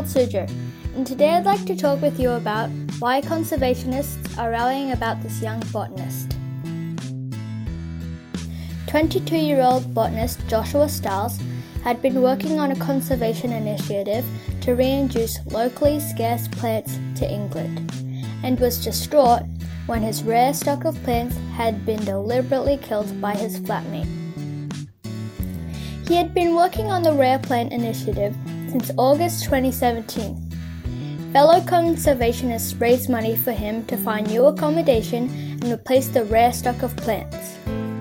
Wild Suzhou, and today I'd like to talk with you about why conservationists are rallying about this young botanist. 22-year-old botanist Joshua Stiles had been working on a conservation initiative to reintroduce locally scarce plants to England, and was distraught when his rare stock of plants had been deliberately killed by his flatmate. He had been working on the Rare Plant Initiative since August 2017. Fellow conservationists raised money for him to find new accommodation and replace the rare stock of plants.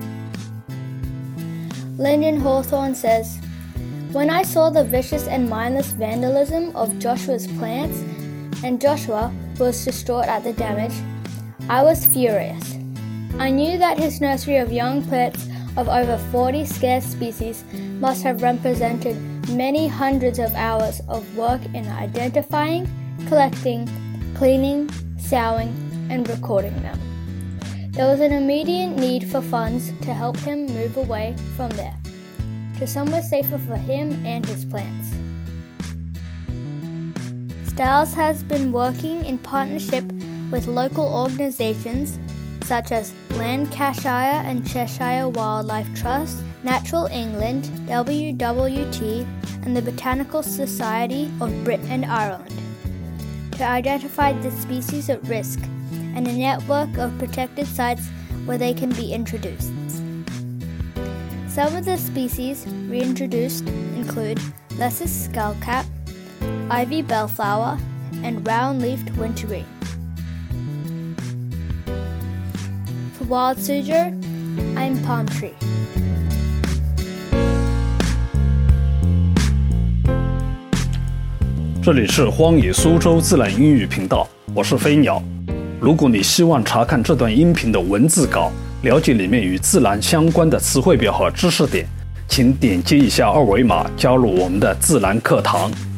Lyndon Hawthorne says, "When I saw the vicious and mindless vandalism of Joshua's plants, and Joshua was distraught at the damage, I was furious. I knew that his nursery of young plants of over 40 scarce species must have represented many hundreds of hours of work in identifying, collecting, cleaning, sowing, and recording them. There was an immediate need for funds to help him move away from there, to somewhere safer for him and his plants." Stiles has been working in partnership with local organisations such as Lancashire and Cheshire Wildlife Trust, Natural England, WWT, and the Botanical Society of Britain and Ireland, to identify the species at risk and a network of protected sites where they can be introduced. Some of the species reintroduced include Lecis skullcap, ivy bellflower, and round-leafed wintergreen. For Wild Suzhou, I'm Palm Tree. 这里是荒野苏州自然英语频道，我是飞鸟。如果你希望查看这段音频的文字稿，了解里面与自然相关的词汇表和知识点，请点击一下二维码加入我们的自然课堂。